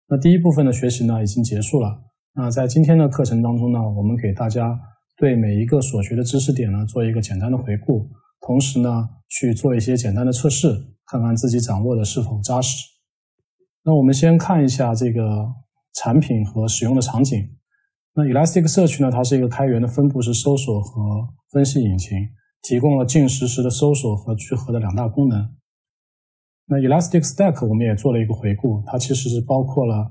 那第一部分的学习呢已经结束了。那在今天的课程当中呢，我们给大家对每一个所学的知识点呢做一个简单的回顾，同时呢去做一些简单的测试，看看自己掌握的是否扎实。那我们先看一下这个产品和使用的场景。那 Elasticsearch 呢，它是一个开源的分布式搜索和分析引擎，提供了近实时的搜索和聚合的两大功能。那 Elasticstack 我们也做了一个回顾，它其实是包括了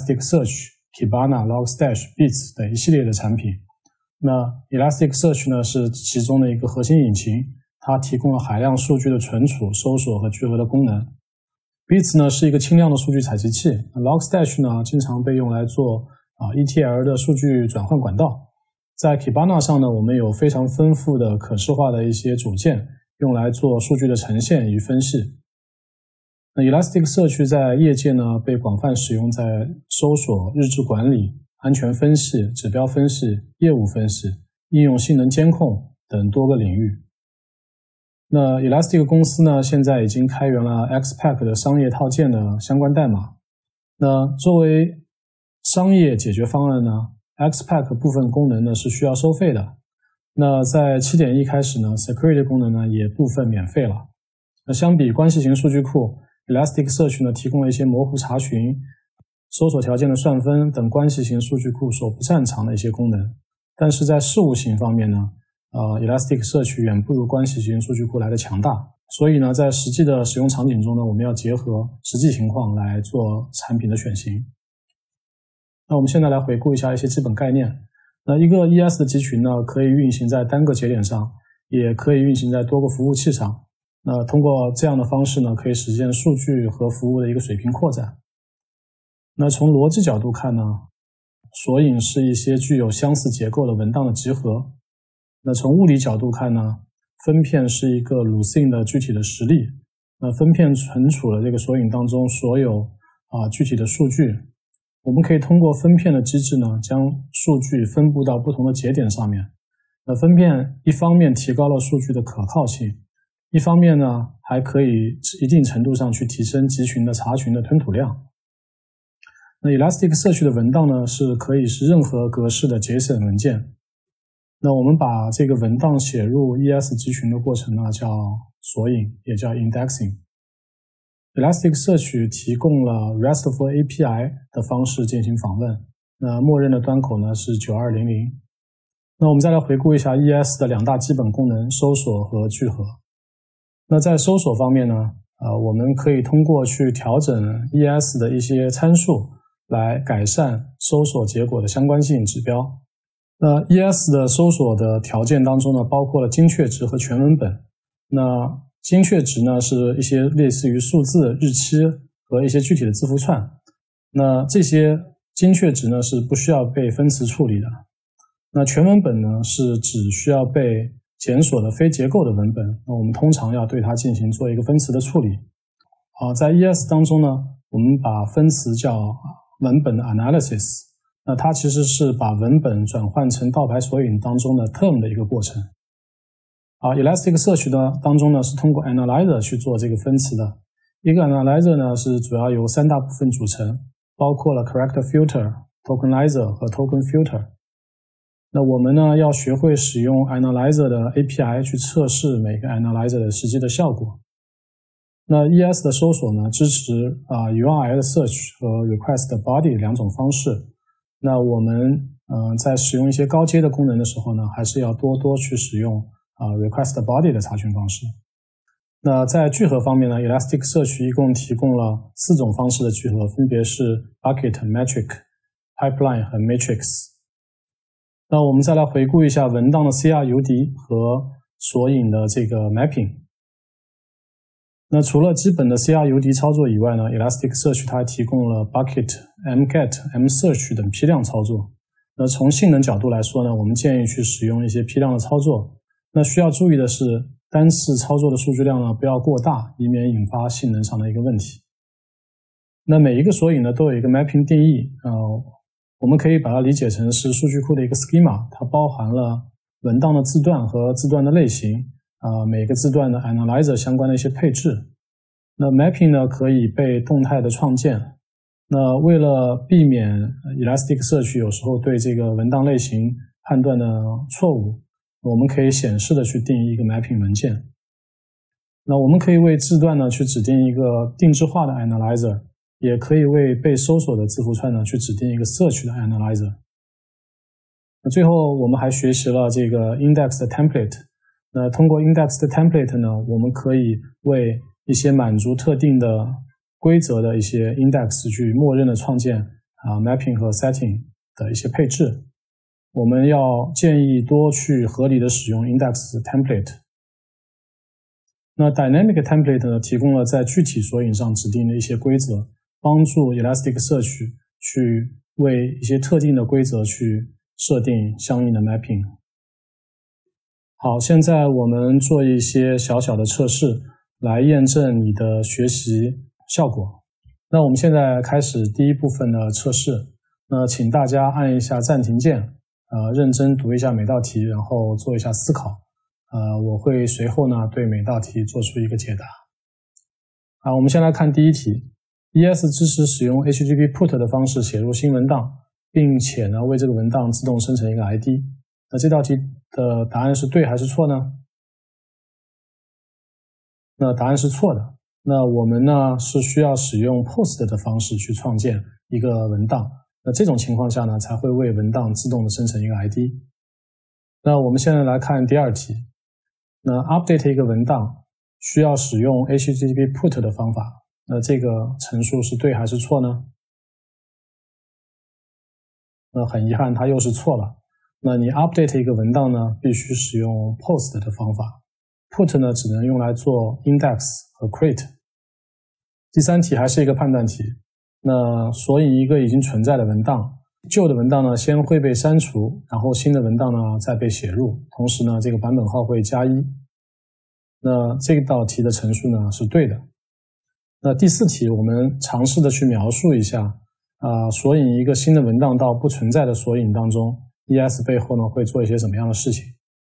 Elasticsearch、Kibana、Logstash、Beats 等一系列的产品。那 Elasticsearch 呢是其中的一个核心引擎，它提供了海量数据的存储、搜索和聚合的功能。Beats 呢是一个轻量的数据采集器， Logstash 呢经常被用来做ETL 的数据转换管道。在 Kibana 上呢，我们有非常丰富的可视化的一些组件，用来做数据的呈现与分析。那 Elasticsearch 在业界呢被广泛使用在搜索、日志管理、安全分析、指标分析、业务分析、应用性能监控等多个领域。那 Elastic 公司呢现在已经开源了 XPack 的商业套件的相关代码。那作为商业解决方案呢， XPack 部分功能呢是需要收费的。那在 7.1 开始呢， Security 功能呢也部分免费了。那相比关系型数据库， Elasticsearch 呢提供了一些模糊查询、搜索条件的算分等关系型数据库所不擅长的一些功能。但是在事务型方面呢，Elasticsearch 远不如关系型数据库来的强大。所以呢，在实际的使用场景中呢，我们要结合实际情况来做产品的选型。那我们现在来回顾一下一些基本概念。那一个 ES 的集群呢，可以运行在单个节点上，也可以运行在多个服务器上。那通过这样的方式呢，可以实现数据和服务的一个水平扩展。那从逻辑角度看呢，索引是一些具有相似结构的文档的集合。那从物理角度看呢，分片是一个 Lucene 的具体的实例。那分片存储了这个索引当中所有具体的数据。我们可以通过分片的机制呢，将数据分布到不同的节点上面。那分片一方面提高了数据的可靠性，一方面呢，还可以一定程度上去提升集群的查询的吞吐量。那 Elasticsearch 的文档呢，是可以是任何格式的 JSON 文件。那我们把这个文档写入 ES 集群的过程呢，叫索引，也叫 indexing。Elasticsearch 提供了 RESTful API 的方式进行访问，那默认的端口呢是9200。那我们再来回顾一下 ES 的两大基本功能，搜索和聚合。那在搜索方面呢，我们可以通过去调整 ES 的一些参数来改善搜索结果的相关性指标。那 ES 的搜索的条件当中呢，包括了精确值和全文本。那精确值呢是一些类似于数字、日期和一些具体的字符串。那这些精确值呢是不需要被分词处理的。那全文本呢是只需要被检索的非结构的文本，那我们通常要对它进行做一个分词的处理。在 ES 当中呢，我们把分词叫文本的 analysis， 那它其实是把文本转换成倒排索引当中的 term 的一个过程。Elasticsearch 呢当中呢是通过 analyzer 去做这个分词的。一个 analyzer 呢是主要由三大部分组成，包括了 character filter、tokenizer 和 token filter。那我们呢要学会使用 analyzer 的 API 去测试每个 analyzer 的实际的效果。那 ES 的搜索呢支持URL search 和 request body 两种方式。那我们在使用一些高阶的功能的时候呢，还是要多多去使用request body 的查询方式。那在聚合方面呢， Elasticsearch 一共提供了4种方式的聚合，分别是 Bucket、Metric、Pipeline 和 Matrix。那我们再来回顾一下文档的 CRUD 和索引的这个 mapping。那除了基本的 CRUD 操作以外呢， Elasticsearch 它还提供了 Bucket、Mget、Msearch 等批量操作。那从性能角度来说呢，我们建议去使用一些批量的操作。那需要注意的是，单次操作的数据量呢不要过大，以免引发性能上的一个问题。那每一个索引呢都有一个 mapping 定义，我们可以把它理解成是数据库的一个 schema， 它包含了文档的字段和字段的类型，每个字段的 analyzer 相关的一些配置。那 mapping 呢可以被动态的创建， 那为了避免 Elasticsearch 有时候对这个文档类型判断的错误，我们可以显示的去定义一个 mapping 文件。那我们可以为字段呢去指定一个定制化的 analyzer， 也可以为被搜索的字符串呢去指定一个 search 的 analyzer。那最后我们还学习了这个 index 的 template。那通过 index 的 template 呢，我们可以为一些满足特定的规则的一些 index 去默认的创建mapping 和 setting 的一些配置。我们要建议多去合理的使用 index template。那 dynamic template 呢，提供了在具体索引上指定的一些规则，帮助 Elasticsearch 去为一些特定的规则去设定相应的 mapping。好，现在我们做一些小小的测试，来验证你的学习效果。那我们现在开始第一部分的测试。那请大家按一下暂停键，认真读一下每道题，然后做一下思考。我会随后呢对每道题做出一个解答。我们先来看第一题。ES 支持使用 HTTP put 的方式写入新文档，并且呢为这个文档自动生成一个 ID。那这道题的答案是对还是错呢？那答案是错的。那我们呢是需要使用 post 的方式去创建一个文档。那这种情况下呢才会为文档自动的生成一个 ID。那我们现在来看第二题。那 update 一个文档需要使用 HTTP put 的方法。那这个陈述是对还是错呢？那很遗憾，它又是错了。那你 update 一个文档呢，必须使用 post 的方法。put 呢，只能用来做 index 和 create。第三题还是一个判断题。那索引一个已经存在的文档，旧的文档呢先会被删除，然后新的文档呢再被写入，同时呢这个版本号会加1。那这道题的陈述呢是对的。那第四题我们尝试的去描述一下索引一个新的文档到不存在的索引当中， ES 背后呢会做一些什么样的事情。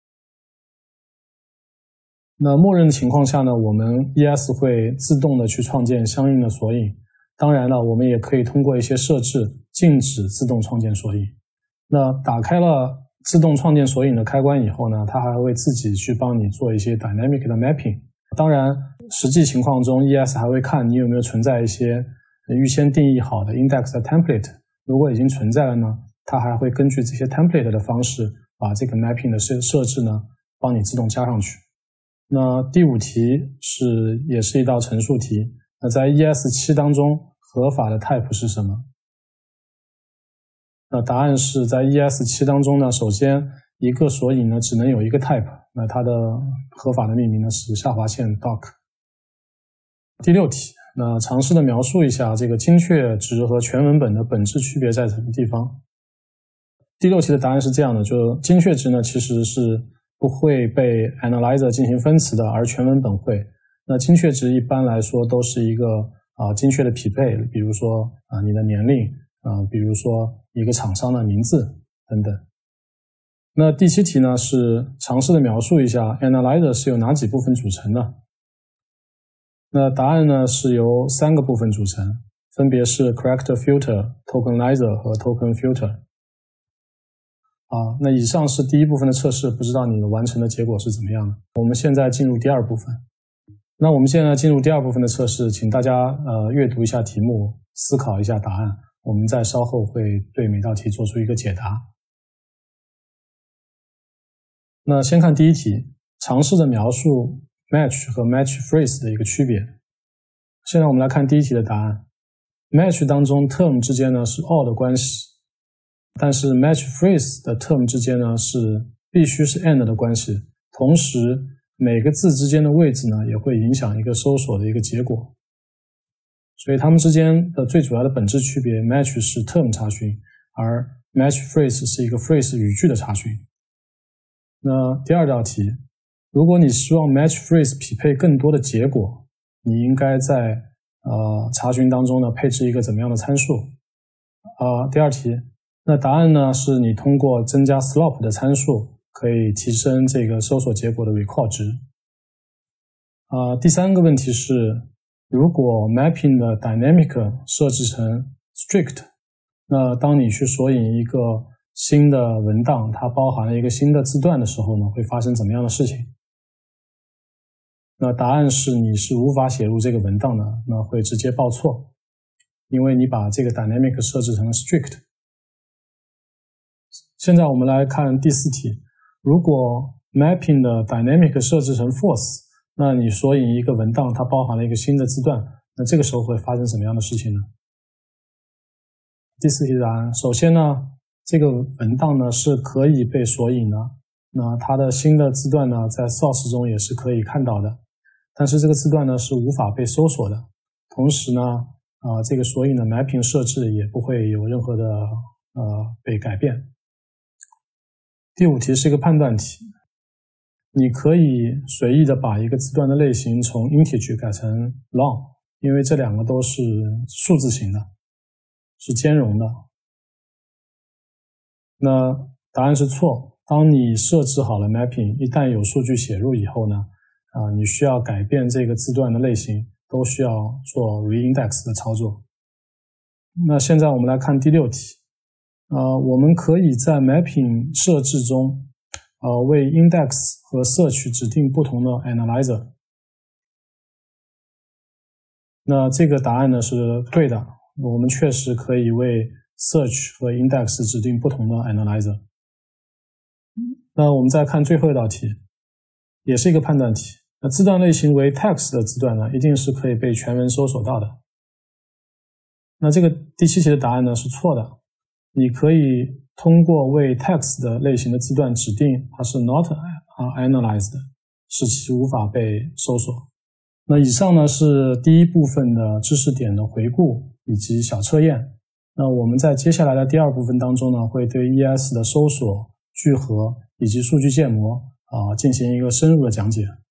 那默认的情况下呢，我们 ES 会自动的去创建相应的索引。当然了，我们也可以通过一些设置禁止自动创建索引。那打开了自动创建索引的开关以后呢，它还会自己去帮你做一些 dynamic 的 mapping。当然实际情况中 ES 还会看你有没有存在一些预先定义好的 index 的 template。 如果已经存在了呢，它还会根据这些 template 的方式把这个 mapping 的设置呢帮你自动加上去。那第五题也是一道陈述题。那在 ES7 当中合法的 type 是什么？那答案是在 ES7 当中呢，首先一个索引呢只能有一个 type， 那它的合法的命名呢是下划线 doc。 第六题，那尝试的描述一下这个精确值和全文本的本质区别在什么地方。第六题的答案是这样的，就精确值呢其实是不会被 analyzer 进行分词的，而全文本会。那精确值一般来说都是一个精确的匹配，比如说你的年龄，比如说一个厂商的名字等等。那第七题呢是尝试的描述一下 analyzer 是由哪几部分组成的。那答案呢是由3个部分组成，分别是 character filter、tokenizer 和 token filter。那以上是第一部分的测试，不知道你完成的结果是怎么样的。我们现在进入第二部分。那我们现在进入第二部分的测试，请大家阅读一下题目，思考一下答案，我们再稍后会对每道题做出一个解答。那先看第一题，尝试的描述 match 和 match phrase 的一个区别。现在我们来看第一题的答案。match 当中 term 之间呢是 or 的关系，但是 match phrase 的 term 之间呢是必须是 and 的关系，同时每个字之间的位置呢也会影响一个搜索的一个结果。所以它们之间的最主要的本质区别， match 是 term 查询，而 match phrase 是一个 phrase 语句的查询。那第二道题，如果你希望 match phrase 匹配更多的结果，你应该在查询当中呢配置一个怎么样的参数？第二题，那答案呢是你通过增加 slop 的参数可以提升这个搜索结果的 recall 值。第三个问题是，如果 mapping 的 dynamic 设置成 strict。那当你去索引一个新的文档，它包含了一个新的字段的时候呢，会发生怎么样的事情？那答案是你是无法写入这个文档的，那会直接报错，因为你把这个 dynamic 设置成了 strict。现在我们来看第4题，如果 mapping 的 dynamic 设置成 false， 那你索引一个文档，它包含了一个新的字段，那这个时候会发生什么样的事情呢？第4题的答案，首先呢，这个文档呢是可以被索引的，那它的新的字段呢在 source 中也是可以看到的，但是这个字段呢是无法被搜索的，同时呢这个索引的 mapping 设置也不会有任何的被改变。第5题是一个判断题，你可以随意的把一个字段的类型从 integer 改成 long， 因为这两个都是数字型的，是兼容的。那答案是错，当你设置好了 mapping， 一旦有数据写入以后呢，你需要改变这个字段的类型，都需要做 reindex 的操作。那现在我们来看第6题，我们可以在 mapping 设置中为 index 和 search 指定不同的 analyzer。那这个答案呢是对的，我们确实可以为 search 和 index 指定不同的 analyzer。那我们再看最后一道题，也是一个判断题。那字段类型为 text 的字段呢，一定是可以被全文搜索到的。那这个第7题的答案呢是错的，你可以通过为 text 的类型的字段指定它是 not analyzed， 使其无法被搜索。那以上呢是第1部分的知识点的回顾以及小测验。那我们在接下来的第2部分当中呢，会对 ES 的搜索、聚合以及数据建模进行一个深入的讲解。